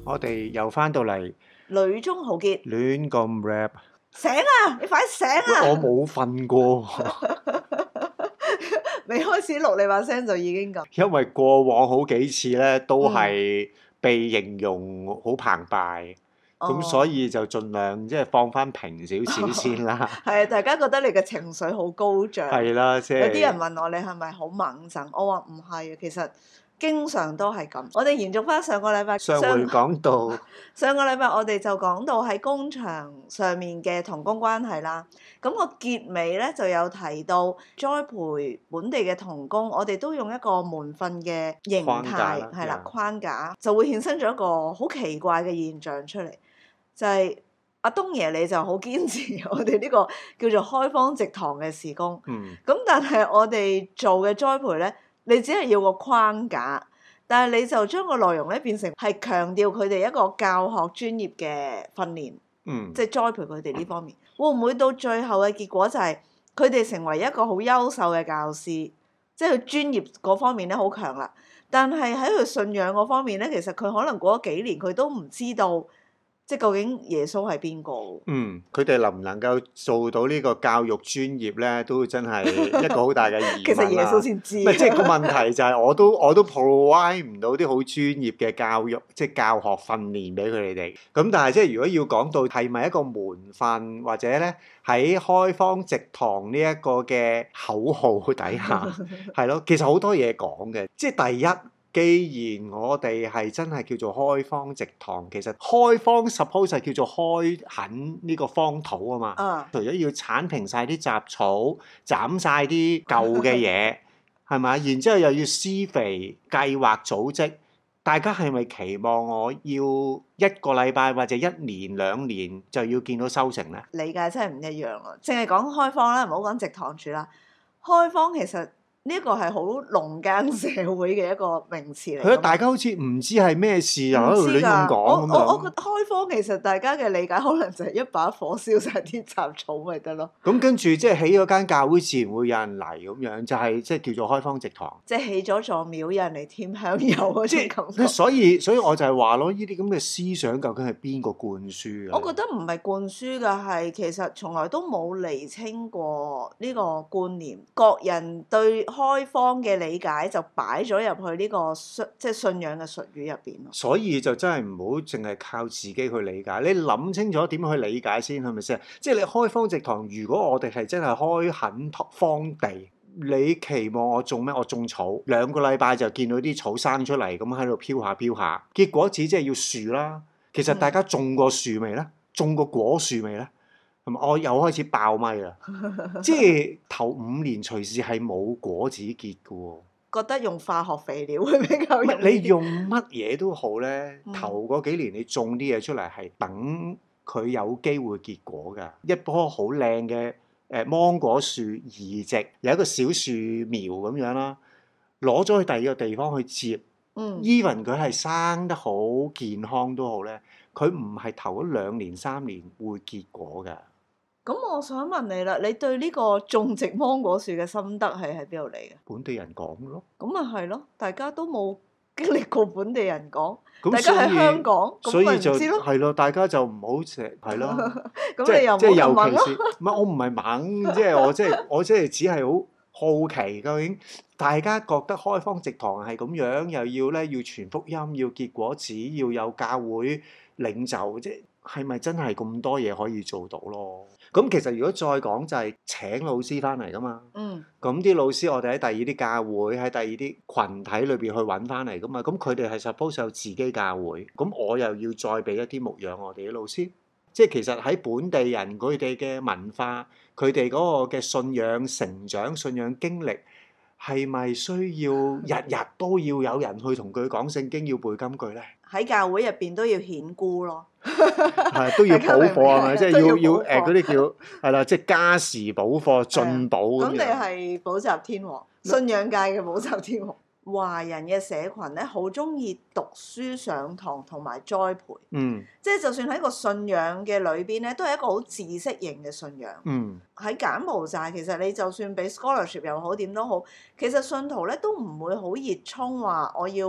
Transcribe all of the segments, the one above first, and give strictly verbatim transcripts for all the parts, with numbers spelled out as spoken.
我哋又翻到嚟女中豪傑， 亂咁 rap。 醒啊！你快醒啊！ 我冇瞓過， 未開始錄你把聲就已經咁。 因為過往好幾次咧都係被形容好澎湃，咁、 哦、 所以就盡量即係放翻平少少先啦。 係啊，大家覺得你嘅情緒好高漲。 係啦，即係有啲人問我你係咪好猛震？我話唔係啊，其實經常都係咁。我哋延續翻上個禮拜， 上回講到上個禮拜我哋就講到喺工場上面嘅同工關係啦。咁個結尾咧就有提到栽培本地嘅同工，我哋都用一個門訓嘅形態係啦框架，就會衍生咗一個好奇怪嘅現象出嚟，就係、是、阿東爺你就好堅持我哋呢個叫做開荒植堂嘅事工。 嗯， 咁但係我哋做嘅栽培咧，你只係要個框架，但係你就將個內容咧變成係強調佢哋一個教學專業嘅訓練， 嗯， 即係栽培佢哋呢方面，會唔會到最後嘅結果就係佢哋成為一個好優秀嘅教師，即係佢專業嗰方面咧好強啦，但係喺佢信仰嗰方面咧，其實佢可能過咗幾年佢都唔知道。即係究竟耶穌係邊個？ 嗯，佢哋能唔能夠做到呢個教育專業咧，都真係一個好大嘅疑問啦。 其實耶穌先知。 唔係，即係個問題就係我都我都 provide 唔到啲好專業嘅教育，即係教學訓練俾佢哋。咁但係即係如果要講到係咪一個門訓，或者咧喺開荒植堂呢一個嘅口號底下，係咯，其實好多嘢講嘅。即係第一。既然我哋係真係叫做開荒植堂，其實開荒 suppose 係叫做開墾呢個荒土啊嘛。 Uh. 除咗要剷平晒啲雜草、斬晒啲舊嘅嘢，係咪？然之後又要施肥、計劃組織，大家係咪期望我要一個禮拜或者一年兩年就要見到收成咧？ 理解真係唔一樣咯。淨係講開荒啦，唔好講植堂住啦。開荒其實。呢一個係好農耕社會嘅一個名詞嚟。 係啊，大家好似唔知係咩事又喺度亂咁講我我我覺得開荒其實大家嘅理解可能就係一把火燒晒啲雜草咪得咯。 咁跟住即係起咗間教會，自然會有人嚟咁樣，就係即係叫做開荒植堂。 即係起咗座廟，有人嚟添香油嗰種感覺。 所以所以我就係話咯，呢啲咁嘅思想究竟係邊個灌輸嘅？ 我覺得唔係灌輸嘅，係其實從來都冇釐清過呢個觀念，各人對開荒嘅理解就擺咗入去呢個信即係信仰嘅術語入邊咯。 所以就真係唔好淨係靠自己去理解，你諗清楚點去理解先，係咪先？即係你開荒植堂，如果我哋係真係開墾荒地，你期望我種咩？我種草，兩個禮拜就見到啲草生出嚟，咁喺度飄下飄下，結果只即係要樹啦。其實大家種過樹未咧？種過果樹未咧？我又開始爆咪啦！即係頭五年隨時係冇果子結嘅喎。 覺得用化學肥料會比較容易。 你用乜嘢都好咧，嗯、頭嗰幾年你種啲嘢出嚟係等佢有機會結果㗎。一棵好靚嘅誒芒果樹移植，有一個小樹苗咁樣啦，攞咗去第二個地方去接。嗯。even 佢係生得好健康都好咧，佢唔係頭嗰兩年三年會結果㗎。 咁我想問你啦，你對呢個種植芒果樹嘅心得係喺邊度嚟嘅？ 本地人講咯。咁咪係咯，大家都冇經歷過本地人講， 咁大家喺香港， 所以就係咯，咯，大家就唔好成係咯。 咁你又即係尤其是唔係我唔係猛，即係我即係我即係只係好好奇，究竟大家覺得開荒植堂係咁樣，又要咧要傳福音，要結果子，要有教會領袖，即係係咪真係咁多嘢可以做到咯？咁其實如果再講就係請老師翻嚟噶嘛，嗯，咁啲老師我哋喺第二啲教會喺第二啲群體裏邊去揾翻嚟噶嘛，咁佢哋係 suppose 有自己教會，咁我又要再俾一啲牧養我哋啲老師，即係其實喺本地人佢哋嘅文化，佢哋嗰個嘅信仰成長、信仰經歷，係咪需要日日都要有人去同佢講聖經，要背金句咧？ 喺教會入邊都要顯孤咯。 係都要補課係咪？即係要要誒嗰啲叫係啦，即係加時補課進補咁樣。 咁你係補習天王，信仰界嘅補習天王。華人嘅社群咧，好中意讀書上堂同埋栽培。嗯。即係就算喺個信仰嘅裏邊咧，都係一個好知識型嘅信仰。嗯。喺柬埔寨，其實你就算俾 scholarship 又好點都好，其實信徒咧都唔會好熱衷話我要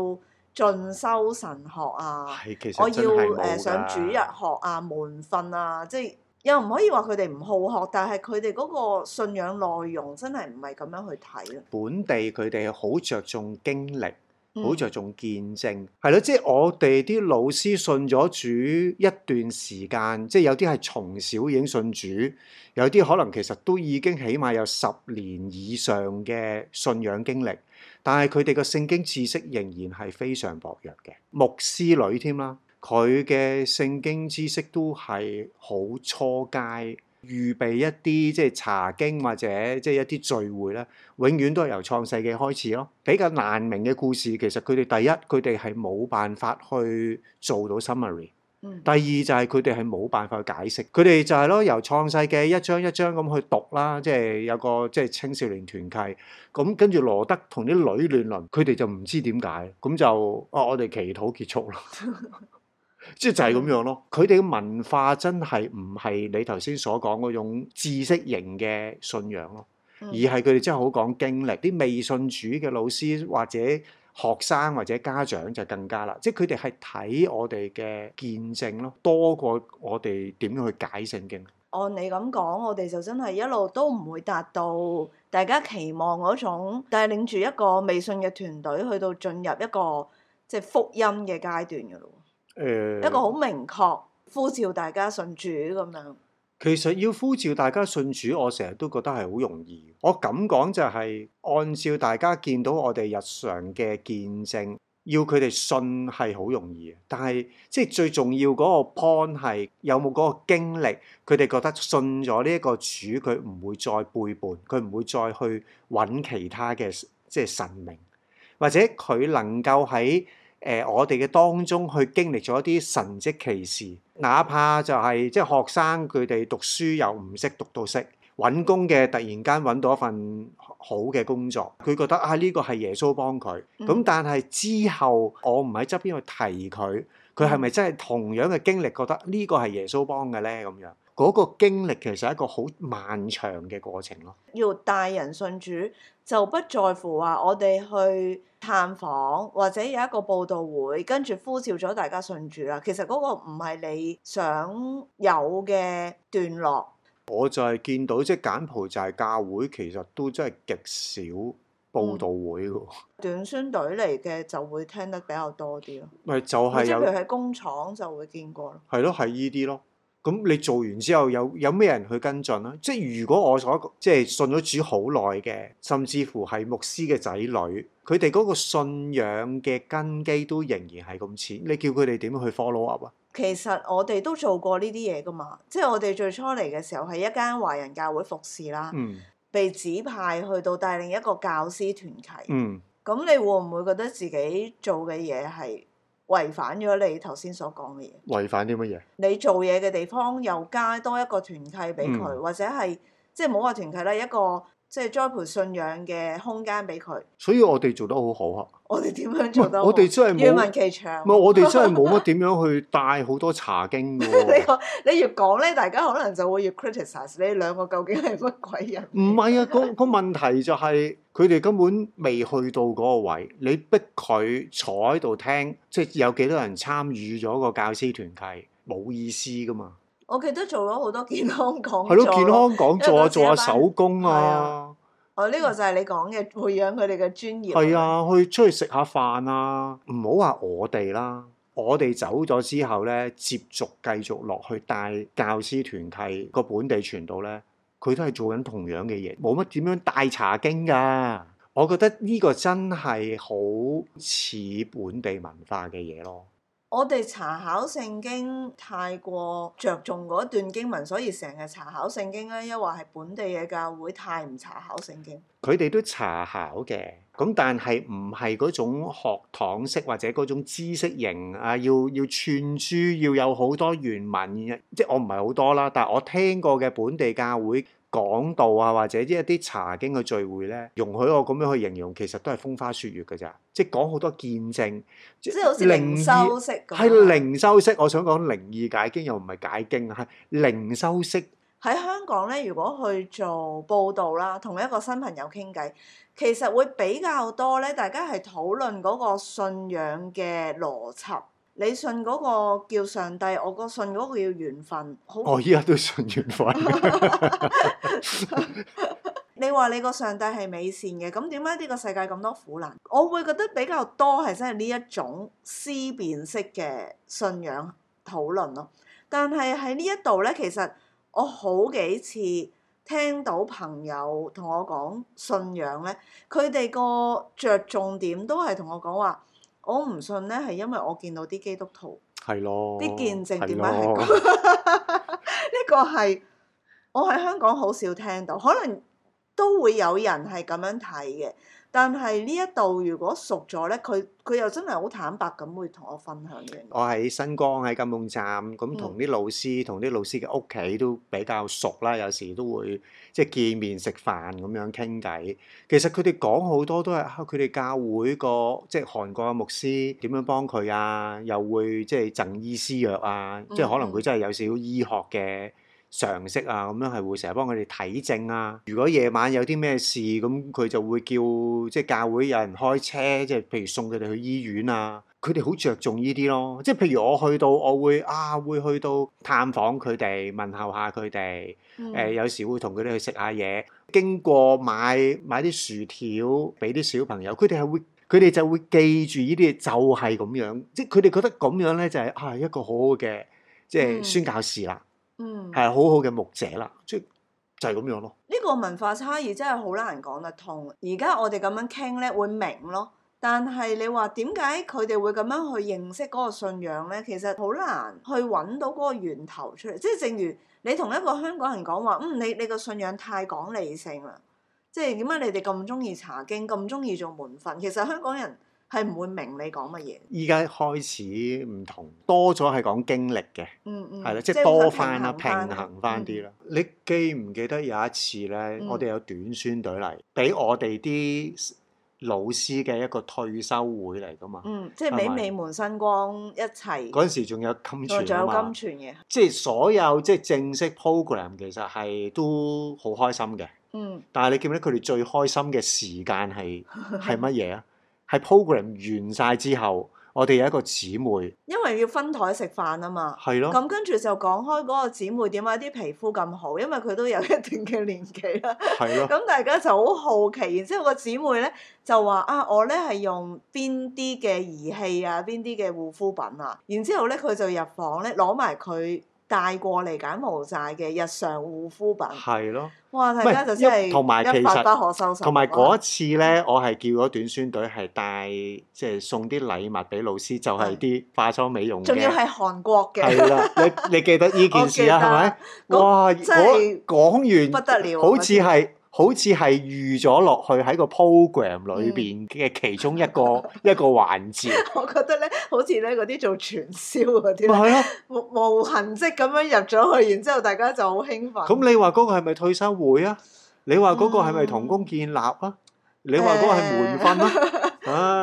進修神學啊， 係其實我要真係冇誒上主日㗎。 學啊、門訓啊，即係又唔可以話佢哋唔好學，但係佢哋嗰個信仰內容真係唔係咁樣去睇咯。 本地佢哋好着重經歷，好着嗯重見證，係咯，即係我哋啲老師信咗主一段時間，即係有啲係從小已經信主，有啲可能其實都已經起碼有十年以上嘅信仰經歷，但係佢哋嘅聖經知識仍然係非常薄弱嘅。牧師女添啦，佢嘅聖經知識都係好初階。預備一啲即係查經或者即係一啲聚會咧，永遠都係由創世記開始咯。比較難明嘅故事，其實佢哋第一佢哋係冇辦法去做到 summary。 嗯第二就係佢哋係冇辦法去解釋，佢哋就係咯由創世記一章一章咁去讀啦，即係有個即係青少年團契，咁跟住羅德同啲女亂倫，佢哋就唔知點解，咁就啊我哋祈禱結束啦。即係就係咁樣咯，佢哋嘅文化真係唔係你頭先所講嗰種知識型嘅信仰咯， 嗯而係佢哋真係好講經歷。啲未信主嘅老師或者學生或者家長就更加啦，即係佢哋係睇我哋嘅見證咯，多過我哋點樣去解聖經。 按你咁講，我哋就真係一路都唔會達到大家期望嗰種帶領住一個未信嘅團隊去到進入一個即係福音嘅階段㗎咯。 誒、呃， 一個好明確呼召大家信主咁樣。 其實要呼召大家信主，我成日都覺得係好容易。我咁講就係按照大家見到我哋日常嘅見證，要佢哋信係好容易嘅。但係即係最重要嗰個 point 係有冇嗰個經歷，佢哋覺得信咗呢一個主，佢唔會再背叛，佢唔會再去揾其他嘅即係神明，或者佢能夠喺誒、呃，我哋嘅當中去經歷咗一啲神蹟奇事，哪怕就係、是、即係學生佢哋讀書又唔識讀到識，揾工嘅突然間揾到一份好嘅工作，佢覺得啊呢、這個係耶穌幫佢。咁、 嗯、 但係之後我唔喺側邊去提佢，佢係咪真係同樣嘅經歷覺得呢個係耶穌幫嘅咧？咁樣嗰、那個經歷其實係一個好漫長嘅過程咯。 要帶人信主，就不在乎話我哋去探訪或者有一個佈道會，跟住呼召咗大家信主啦。其實嗰個唔係你想有嘅段落。 我就係見到即係柬埔寨教會其實都真係極少佈道會㗎。 短宣隊嚟嘅就會聽得比較多啲咯。 咪就係有， 即係譬如喺工廠就會見過咯。 係咯，係依啲咯。咁你做完之後有有咩人去跟進啊？即係如果我所即係信咗主好耐嘅，甚至乎係牧師嘅仔女，佢哋嗰個信仰嘅根基都仍然係咁淺，你叫佢哋點樣去 follow up 啊？ 其實我哋都做過呢啲嘢噶嘛，即係我哋最初嚟嘅時候係一間華人教會服侍啦， 嗯被指派去到帶領一個教師團契。 嗯， 咁你會唔會覺得自己做嘅嘢係違反咗你頭先所講嘅嘢？ 違反啲乜嘢？ 你做嘢嘅地方又加多一個團契俾佢， 嗯或者係即係冇話團契啦，一個即係栽培信仰嘅空間俾佢。 所以我哋做得好好啊！ 我哋點樣做得好？ 我哋真係冇願聞其詳。 唔係我哋真係冇乜點樣去帶好多查經嘅喎。 你個你越講咧，大家可能就會越 criticize 你兩個究竟係乜鬼人？ 唔係啊，個個問題就係佢哋根本未去到嗰個位，你逼佢坐喺度聽，即係有幾多人參與咗個教師團契，冇意思噶嘛。 我記得做咗好多健康講座。 係咯，健康講座啊， 因為嗰時一班做下手工係啊啊。哦，呢、這個就係你講嘅培養佢哋嘅專業。 係啊，去出去食下飯啊，唔好話我哋啦。我哋走咗之後咧，接續繼續落去帶教師團契個本地傳道咧，佢都係做緊同樣嘅嘢，冇乜點樣帶查經㗎。我覺得呢個真係好似本地文化嘅嘢咯。 我哋查考聖經太過着重嗰段經文，所以成日查考聖經咧，抑或係本地嘅教會太唔查考聖經。 佢哋都查考嘅，咁但係唔係嗰種學堂式或者嗰種知識型啊，要要串珠，要有好多原文，即係我唔係好多啦，但係我聽過嘅本地教會講道啊，或者一啲查經嘅聚會咧，容許我咁樣去形容，其實都係風花雪月㗎咋，即係講好多見證， 即係好似靈修式咁。 係靈修式，我想講靈意解經又唔係解經，係靈修式喺香港咧，如果去做報道啦，同一個新朋友傾偈，其實會比較多咧，大家係討論嗰個信仰嘅邏輯。你信嗰個叫上帝，我個信嗰個叫緣分。好， 我依家都信緣分。 你話你個上帝係美善嘅，咁點解呢個世界咁多苦難？我會覺得比較多係真係呢一種思辨式嘅信仰討論咯。但係喺呢一度咧，其實我好幾次聽到朋友同我講信仰咧，佢哋個着重點都係同我講話，我唔信咧係因為我見到啲基督徒係咯， 啲見證點解係咯咁？呢個係我喺香港好少聽到，可能都會有人係咁樣睇嘅。但係呢一度如果熟咗咧，佢佢又真係好坦白咁會同我分享嘅。 我喺新光喺金鳳站，咁同啲老師同啲、嗯、老師嘅屋企都比較熟啦，有時都會即係見面食飯咁樣傾偈。其實佢哋講好多都係佢哋教會個即係韓國嘅牧師點樣幫佢啊，又會即係贈醫施藥啊，嗯、即係可能佢真係有少少醫學嘅常識啊，咁樣係會成日幫佢哋睇症啊。如果夜晚有啲咩事，咁佢就會叫即係教會有人開車，即係譬如送佢哋去醫院啊。佢哋好着重呢啲咯。即係譬如我去到，我會啊會去到探訪佢哋，問候下佢哋。誒、嗯呃、有時會同佢哋去食下嘢，經過買買啲薯條俾啲小朋友，佢哋係會佢哋就會記住呢啲嘢，就係咁樣。即係佢哋覺得咁樣咧就係、是、啊一個好好嘅即係宣教士啦。 嗯， 係好好嘅牧者啦，即係就係咁樣咯。 呢個文化差異真係好難講得通。而家我哋咁樣傾咧，會明咯。但係你話點解佢哋會咁樣去認識嗰個信仰咧？其實好難去揾到嗰個源頭出嚟。即係正如你同一個香港人講話，嗯，你你個信仰太講理性啦。即係點解你哋咁中意查經，咁中意做門訓？其實香港人係唔會明你講乜嘢。 依家開始唔同，多咗係講經歷嘅， 嗯嗯， 係啦，即係多翻啦，平衡翻啲啦。嗯、你記唔記得有一次咧，嗯、我哋有短宣隊嚟，俾我哋啲老師嘅一個退休會嚟噶嘛？ 嗯，即係俾美門新光一齊。 嗰陣時仲有金傳仲有啊嘛， 金傳嘅。 即係所有即係正式 program 其實係都好開心嘅。 嗯。 但係你記唔記得佢哋最開心嘅時間係係乜嘢啊？係 program 完晒之後，我哋有一個姊妹， 因為要分枱食飯啊嘛。 係咯。 咁跟住就講開嗰個姊妹點解啲皮膚咁好，因為佢都有一定嘅年紀啦。 係咯。 咁大家就好好奇，然之後個姊妹咧就話啊，我咧係用邊啲嘅儀器啊，邊啲嘅護膚品啊，然之後咧佢就入房咧攞埋佢帶過嚟柬埔寨嘅日常護膚品。 係咯。 哇！大家就真係一發不可收拾。 同埋嗰一次咧，我係叫咗短宣隊係帶即係送啲禮物俾老師，就係啲化妝美容嘅。仲要係韓國嘅。係啦，你你記得呢件事啊？係咪？哇！ 真係講完不得了， 好似係好似係預咗落去喺個 program 裏邊嘅其中一個、嗯、一個環節。 我覺得咧，好似咧嗰啲做傳銷嗰啲， 係啊， 無無痕跡咁樣入咗去，然之後大家就好興奮。 咁你話嗰個係咪退休會啊？你話嗰個係咪同工建立啊？嗯、你話嗰個係門訓啊？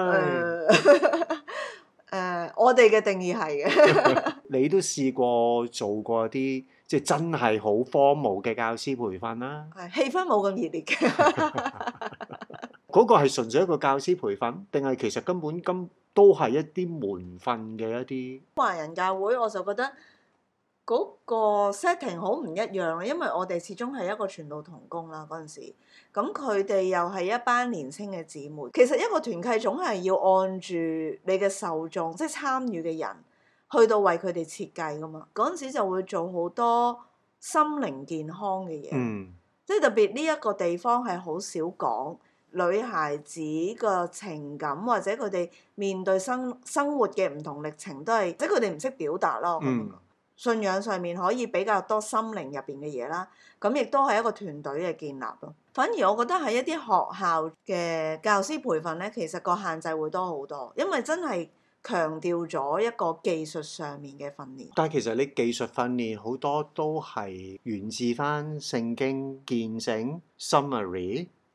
唉，誒，我哋嘅定義係嘅。 你都試過做過啲即係真係好荒謬嘅教師培訓啦？ 係氣氛冇咁熱烈嘅。 嗰個係純粹一個教師培訓，定係其實根本根都係一啲門訓嘅一啲華人教會？我就覺得嗰個 setting 好唔一樣啦，因為我哋始終係一個傳道同工啦嗰陣時，咁佢哋又係一班年輕嘅姊妹。其實一個團契總係要按住你嘅受眾，即係參與嘅人，去到為佢哋設計噶嘛。嗰陣時就會做好多心靈健康嘅嘢， 嗯、 即係特別呢一個地方係好少講女孩子個情感，或者佢哋面對生生活嘅唔同歷程，都係即係佢哋唔識表達咯。 嗯信仰上面可以比較多心靈入邊嘅嘢啦，咁亦都係一個團隊嘅建立咯。反而我覺得喺一啲學校嘅教師培訓咧，其實個限制會多好多，因為真係強調咗一個技術上面嘅訓練。 但係其實你技術訓練好多都係源自翻聖經見證 summary。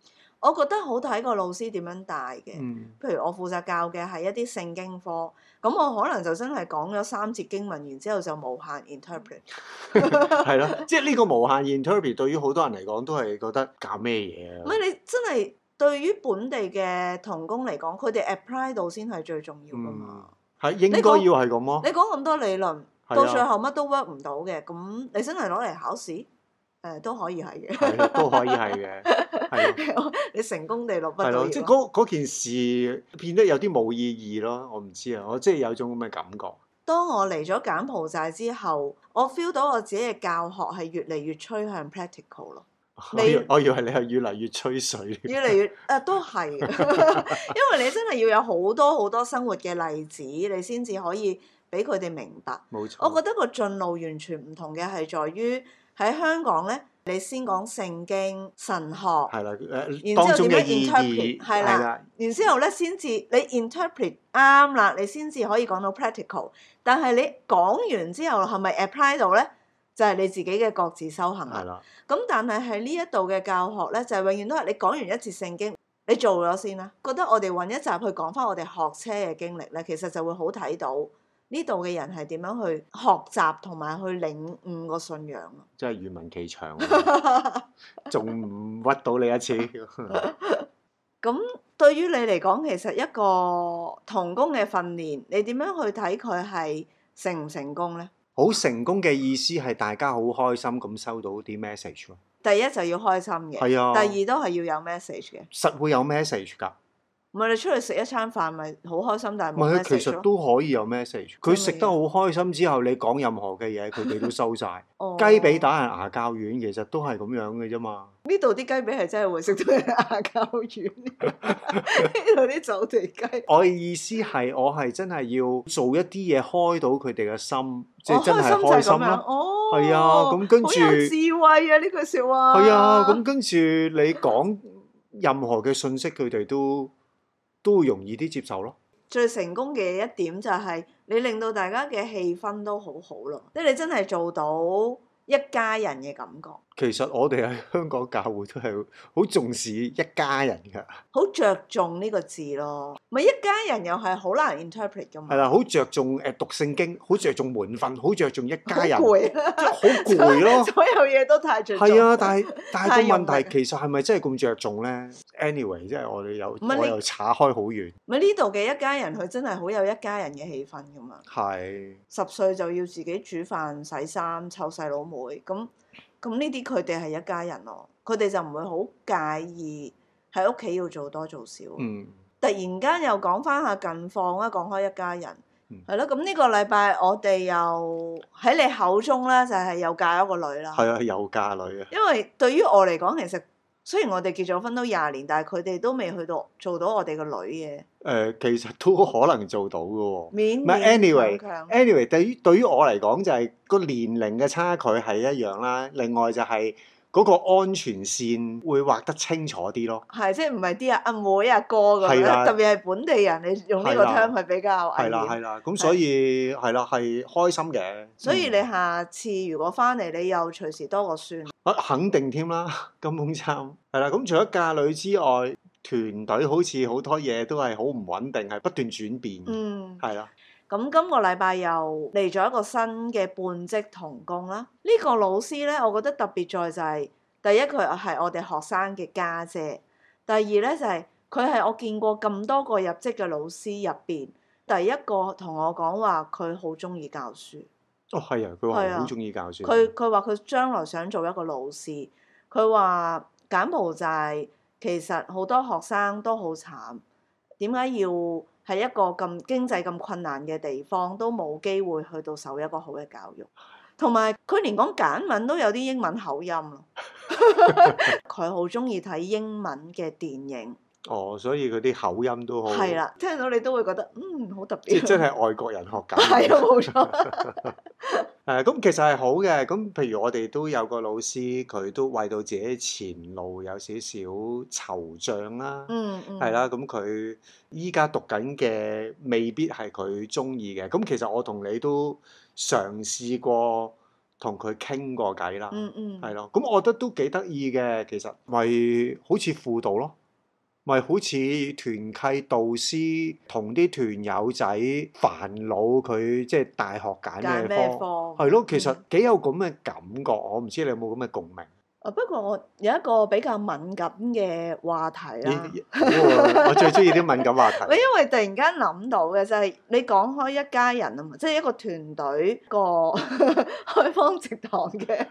我覺得好睇個老師點樣帶嘅。 嗯， 譬如我負責教嘅係一啲聖經科，咁我可能就真係講咗三節經文，然之後就無限 interpret。 係咯，即係呢個無限 interpret 對於好多人嚟講都係覺得搞咩嘢啊？ 唔係你真係對於本地嘅童工嚟講，佢哋 apply 到先係最重要噶嘛。 係、嗯、應該要係咁咯。 你講咁多理論， 啊、 到最後乜都 work 唔到嘅，咁你真係攞嚟考試？誒、呃、都可以係嘅， 係都可以係嘅，係你成功地落筆。 係咯，即係嗰嗰件事變得有啲冇意義咯。我唔知啊，我即係有種咁嘅感覺。 當我嚟咗柬埔寨之後，我 feel 到我自己嘅教學係越嚟越趨向 practical 咯。 你我以為你係越嚟越吹水。 越嚟越誒、啊、都係，因為你真係要有好多好多生活嘅例子，你先至可以俾佢哋明白。 冇錯。 我覺得個進路完全唔同嘅係在於。喺香港咧，你先講聖經神學， 係啦，誒， 然之後點樣意 interpret，係啦， 啦然之後咧先至你 interpret 啱啦，你先至可以講到 practical。但係你講完之後係咪 apply 到咧？就係、是、你自己嘅各自修行啦。係啦。咁但係喺呢一度嘅教學咧，就係、是、永遠都係你講完一節聖經，你做咗先啦。覺得我哋揾一集去講翻我哋學車嘅經歷咧，其實就會好睇到。呢度嘅人係點樣去學習同埋去領悟個信仰啊？ 真係願聞其詳，仲唔屈到你一次？ 咁對於你嚟講，其實一個童工嘅訓練，你點樣去睇佢係成唔成功呢？ 好成功嘅意思係大家好開心咁收到啲 message 咯。 第一就要開心嘅， 係啊， 第二都係要有 message 嘅。 實會有 message 㗎。 唔係你出去食一餐飯咪好開心，但係冇 message 其實都可以有 message。佢食得好開心之後，你講任何嘅嘢，佢哋都收晒。 哦、 雞髀打人牙膠軟，其實都係咁樣嘅啫嘛。 呢度啲雞髀係真係會食到人牙膠軟，呢度啲走地雞。 我嘅意思係，我係真係要做一啲嘢開到佢哋嘅心，即係真係開心咯。 哦， 係啊，咁跟住好有智慧啊！呢句説話。 係啊，咁跟住你講任何嘅信息，佢哋都都會容易啲接受咯。 最成功嘅一點就係你令到大家嘅氣氛都好好咯，即係你真係做到一家人嘅感覺。 其實我哋喺香港教會都係好重視一家人㗎， 好着重呢個字咯。咪一家人又係好難 interpret 㗎嘛。 係啦，好着重誒讀聖經，好着重門訓，好着重一家人， 好攰， 即係好攰咯。 所有嘢都太着重。 係啊，但係但係個問題其實係咪真係咁着重咧 ？Anyway，即係我哋又我又岔開好遠。 咪呢度嘅一家人，佢真係好有一家人嘅氣氛㗎嘛。 係。 十歲就要自己煮飯、洗衫、湊細佬妹咁。咁呢啲佢哋係一家人咯，佢哋就唔會好介意喺屋企要做多做少。 嗯。 突然間又講翻下近況啦，講開一家人，係咯、嗯。咁呢個禮拜我哋又喺你口中咧，就係、是、又嫁咗個女啦。係啊，又嫁女啊。 因為對於我嚟講，其實雖然我哋結咗婚都廿年，但係佢哋都未去到做到我哋個女嘅。誒、 呃，其實都可能做到嘅喎。 勉勉強強。anyway，anyway， anyway，對於對於我嚟講就係、是、個年齡嘅差距係一樣啦。另外就係嗰個安全線會畫得清楚啲咯。係， 即係唔係啲阿阿妹阿哥咁樣，的特別係本地人，你用呢個 term 係比較危險。係啦係啦，咁所以係啦係開心嘅。 所以你下次如果翻嚟，你又隨時多個孫。 啊，肯定添啦，金鳳參係啦。咁除咗嫁女之外，團隊好似好多嘢都係好唔穩定，係不斷轉變。嗯，係啦。 咁今個禮拜又嚟咗一個新嘅半職童工啦。呢、這個老師咧，我覺得特別在就係、是、第一佢係我哋學生嘅家姐，第二咧就係佢係我見過咁多個入職嘅老師入邊第一個同我講話佢好中意教書。 哦，係啊，佢話好中意教書。 佢佢話佢將來想做一個老師。佢話柬埔寨其實好多學生都好慘，點解要喺一個咁經濟咁困難嘅地方都冇機會去到受一個好嘅教育？同埋佢連講柬文都有啲英文口音咯。佢好中意睇英文嘅電影。哦， 所以佢啲口音都好。 係啦，聽到你都會覺得嗯好特別。 即係真係外國人學緊。 係啊，冇錯。 誒，咁其實係好嘅。咁譬如我哋都有個老師，佢都為到自己前路有少少惆悵啦。嗯嗯。係啦，咁佢依家讀緊嘅未必係佢中意嘅。咁其實我同你都嘗試過同佢傾過偈啦。嗯嗯。係咯，咁我覺得都幾得意嘅。其實咪好似輔導咯。 咪好似團契導師同啲團友仔煩惱佢即係大學揀揀咩科， 咩科？ 係咯，其實嗯幾有咁嘅感覺，我唔知你有冇咁嘅共鳴。 啊，不過我有一個比較敏感嘅話題啦。 咦好喎，我最中意啲敏感話題。 喂，因為突然間諗到嘅就係你講開一家人啊嘛，即係一個團隊個開荒植堂嘅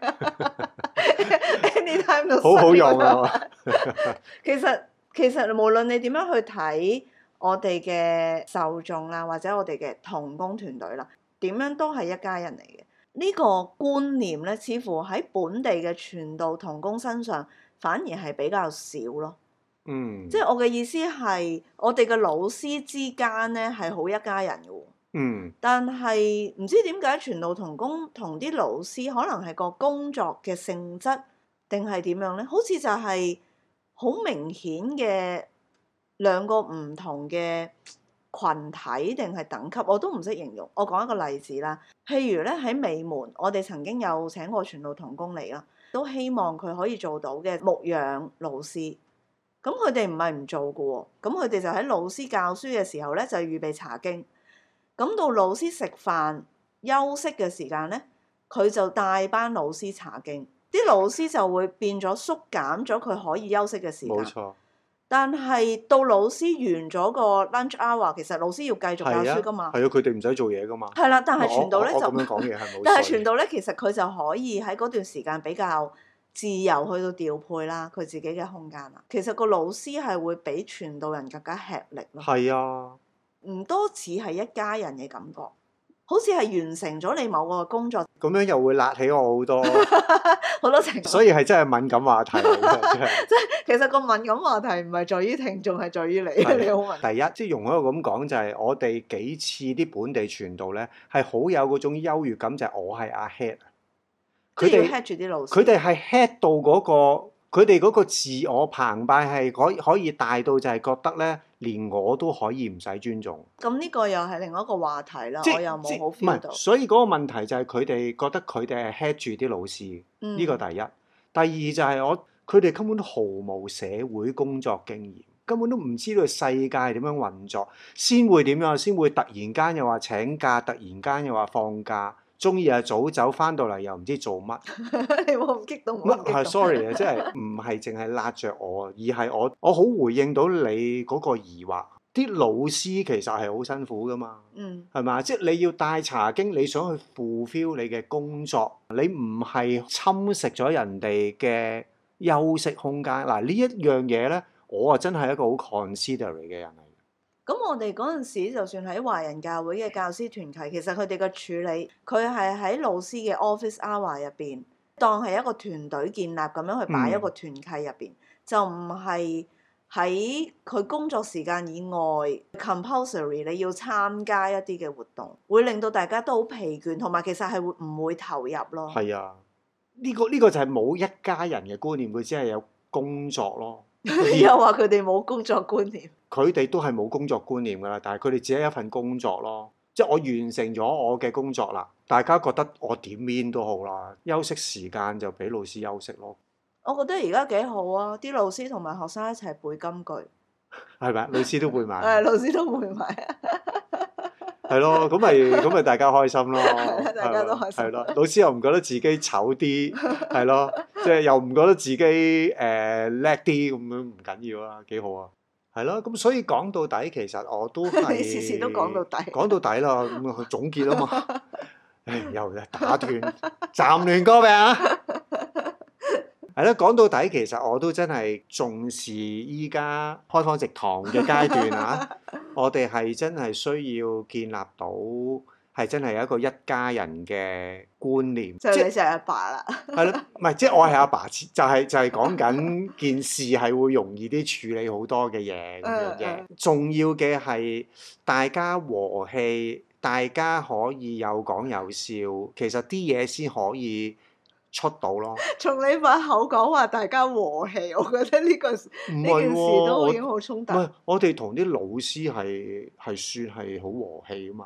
anytime 都好好用啊！ 其實其實無論你點樣去睇我哋嘅受眾啦，或者我哋嘅同工團隊啦，點樣都係一家人嚟嘅。呢個觀念咧，似乎喺本地嘅傳道同工身上反而係比較少咯。 嗯， 即係我嘅意思係，我哋嘅老師之間咧係好一家人嘅喎。 嗯， 但係唔知點解傳道同工同啲老師可能係個工作嘅性質定係點樣咧？好似就係好明顯嘅兩個唔同嘅群體定係等級，我都唔識形容。我講一個例子啦，譬如咧喺美門，我哋曾經有請過傳道同工嚟啦，都希望佢可以做到嘅牧養老師。咁佢哋唔係唔做嘅喎，咁佢哋就喺老師教書嘅時候咧，就預備查經。咁到老師食飯休息嘅時間咧，佢就帶班老師查經。啲老師就會變咗縮減咗佢可以休息嘅時間。 冇錯。 但係到老師完咗個 lunch hour，其實老師要繼續教書噶嘛。 係啊，佢哋唔使做嘢噶嘛。 係啦，但係傳道咧就， 我咁樣講嘢係冇。 但係傳道咧，其實佢就可以喺嗰段時間比較自由去到調配啦，佢自己嘅空間啦。其實個老師係會比傳道人更加吃力咯。 係啊， 唔多似係一家人嘅感覺，好似係完成咗你某個工作。 咁樣又會辣起我好多， 好多情況。 所以係真係敏感話題嚟嘅，真係。 即係其實個敏感話題唔係在於聽眾，係在於你。你好敏感。 第一，即係容許我咁講，就係我哋幾次啲本地傳道咧，係好有嗰種優越感，就係我係阿 head。 佢哋 head 住啲老師。 佢哋係 head 到嗰個，佢哋嗰個自我澎湃係可以可以大到就係覺得咧，連我都可以唔使尊重。 咁呢個又係另外一個話題啦， 即我又冇好唔 feel 到。 係，所以嗰個問題就係佢哋覺得佢哋係 head 住啲老師，呢、 嗯、 個第一。第二就係我佢哋根本都毫無社會工作經驗，根本都唔知道世界點樣運作，先會點樣，先會突然間又話請假，突然間又話放假，中意啊早走，翻到嚟又唔知做乜。 你冇咁激動。 乜係 sorry 啊，即係唔係淨係辣着我，而係我我好回應到你嗰個疑惑。啲老師其實係好辛苦噶嘛， 嗯， 係嘛？即係你要帶查經，你想去 fulfill 你嘅工作，你唔係侵蝕咗人哋嘅休息空間。嗱呢一樣嘢咧，我啊真係一個好 considerate 嘅人嚟。 咁我哋嗰陣時，就算喺華人教會嘅教師團契，其實佢哋嘅處理，佢係喺老師嘅 office hour 入邊，當係一個團隊建立咁樣去擺一個團契入邊，嗯、就唔係喺佢工作時間以外 compulsory 你要參加一啲嘅活動，會令到大家都好疲倦，同埋其實係會唔會投入咯？ 係啊，呢、這個呢、這個就係冇一家人嘅觀念，佢只係有工作咯。 又話佢哋冇工作觀念， 佢哋都係冇工作觀念㗎啦，但係佢哋只係一份工作咯。即係我完成咗我嘅工作啦，大家覺得我點 mean 都好啦，休息時間就俾老師休息咯。 我覺得而家幾好啊！啲老師同埋學生一齊背金句， 係咪？老師都背埋。 係老師都背埋啊！ 係咯，咁咪咁咪大家開心咯。 大家都開心。 係咯，老師又唔覺得自己醜啲，係咯，即係又唔覺得自己誒叻啲咁樣，唔緊要啊，幾好啊。係咯，咁所以講到底，其實我都係你次次都講到底。 講到底啦，咁啊總結啊嘛。唉，又打斷，暫亂歌病啊！係咯，講到底其實我都真係重視依家開荒植堂嘅階段啊！我哋係真係需要建立到係真係有一個一家人嘅觀念。 就係你就係阿爸啦。 係咯，唔係即係我係阿爸，就係就係講緊件事係會容易啲處理好多嘅嘢咁樣嘅。重要嘅係大家和氣，大家可以有講有笑，其實啲嘢先可以出到咯。從你把口講話大家和氣，我覺得呢、呢個呢件事都已經好衝突。 唔係，我哋同啲老師係係算係好和氣啊嘛。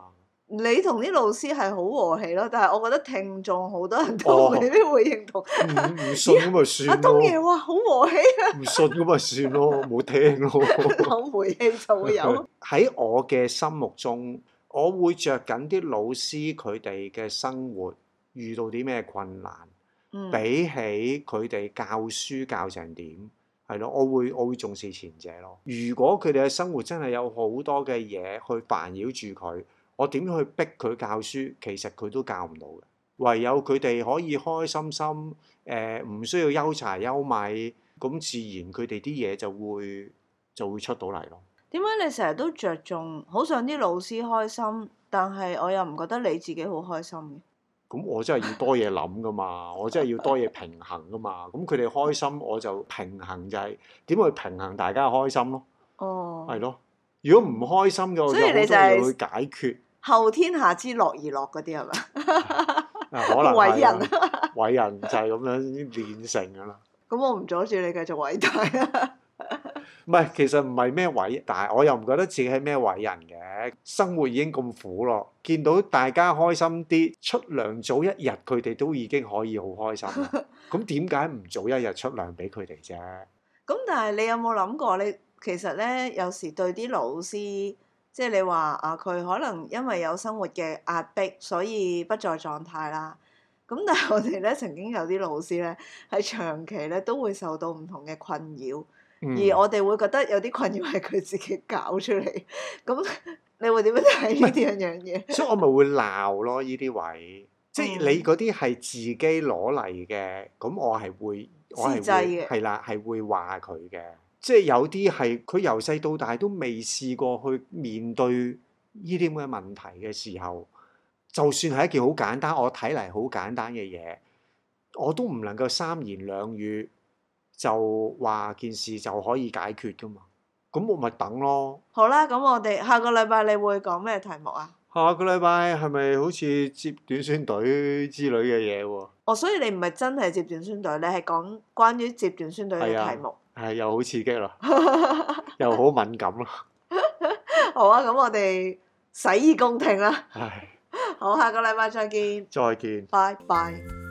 你同啲老師係好和氣咯，但係我覺得聽眾好多人都哦未必會認同。 唔唔信咁咪阿算東爺咯， 話好和氣啊， 唔信咁咪算咯，冇聽咯。 有回氣就會有。 喺我嘅心目中，我會着緊啲老師佢哋嘅生活遇到啲咩困難， 嗯， 比起佢哋教書教成點，係咯，我會我會重視前者咯。如果佢哋嘅生活真係有好多嘅嘢去煩擾住佢，我點樣去逼佢教書，其實佢都教唔到嘅。唯有佢哋可以開開心心，誒、呃、唔需要憂柴憂米，咁自然佢哋啲嘢就會就會出到嚟咯。 點解你成日都着重好想啲老師開心，但係我又唔覺得你自己好開心嘅？ 咁我真係要多嘢諗噶嘛，我真係要多嘢平衡噶嘛。咁佢哋開心，我就平衡就係點去平衡大家嘅開心咯。 哦， 係咯，如果唔開心嘅，我所以有好多你就係嘢去解決。 後天下之樂而樂嗰啲係咪？ 啊，可能偉人係啊，偉人就係咁樣練成噶啦。 咁我唔阻住你繼續偉大啊！ 唔係，其實唔係咩偉，但係我又唔覺得自己係咩偉人嘅。生活已經咁苦咯，見到大家開心啲，出糧早一日，佢哋都已經可以好開心啦。咁點解唔早一日出糧俾佢哋啫？ 咁但係你有冇諗過？你其實咧有時對啲老師，即係你話啊，佢可能因為有生活嘅壓迫，所以不在狀態啦。咁但係我哋咧曾經有啲老師咧，係長期咧都會受到唔同嘅困擾。 嗯、 而我哋會覺得有啲困擾係佢自己搞出嚟，咁你會點樣睇呢啲樣嘢？ 所以我咪會鬧咯，呢啲位，即係你嗰啲係自己攞嚟嘅，咁我係會，我係會係啦，係會話佢嘅。即係有啲係佢由細到大都未試過去面對呢啲咁嘅問題嘅時候，就算係一件好簡單，我睇嚟好簡單嘅嘢，我都唔能夠三言兩語就話件事就可以解決噶嘛，咁我咪等咯。 好啦，咁我哋下個禮拜你會講咩題目啊？ 下個禮拜係咪好似接短宣隊之類嘅嘢喎？ 哦，所以你唔係真係接短宣隊，你係講關於接短宣隊嘅題目。 係又好刺激咯，又好敏感咯。 好啊，咁我哋洗耳恭聽啦。 唉， 好，下個禮拜再見。 再見。 拜拜。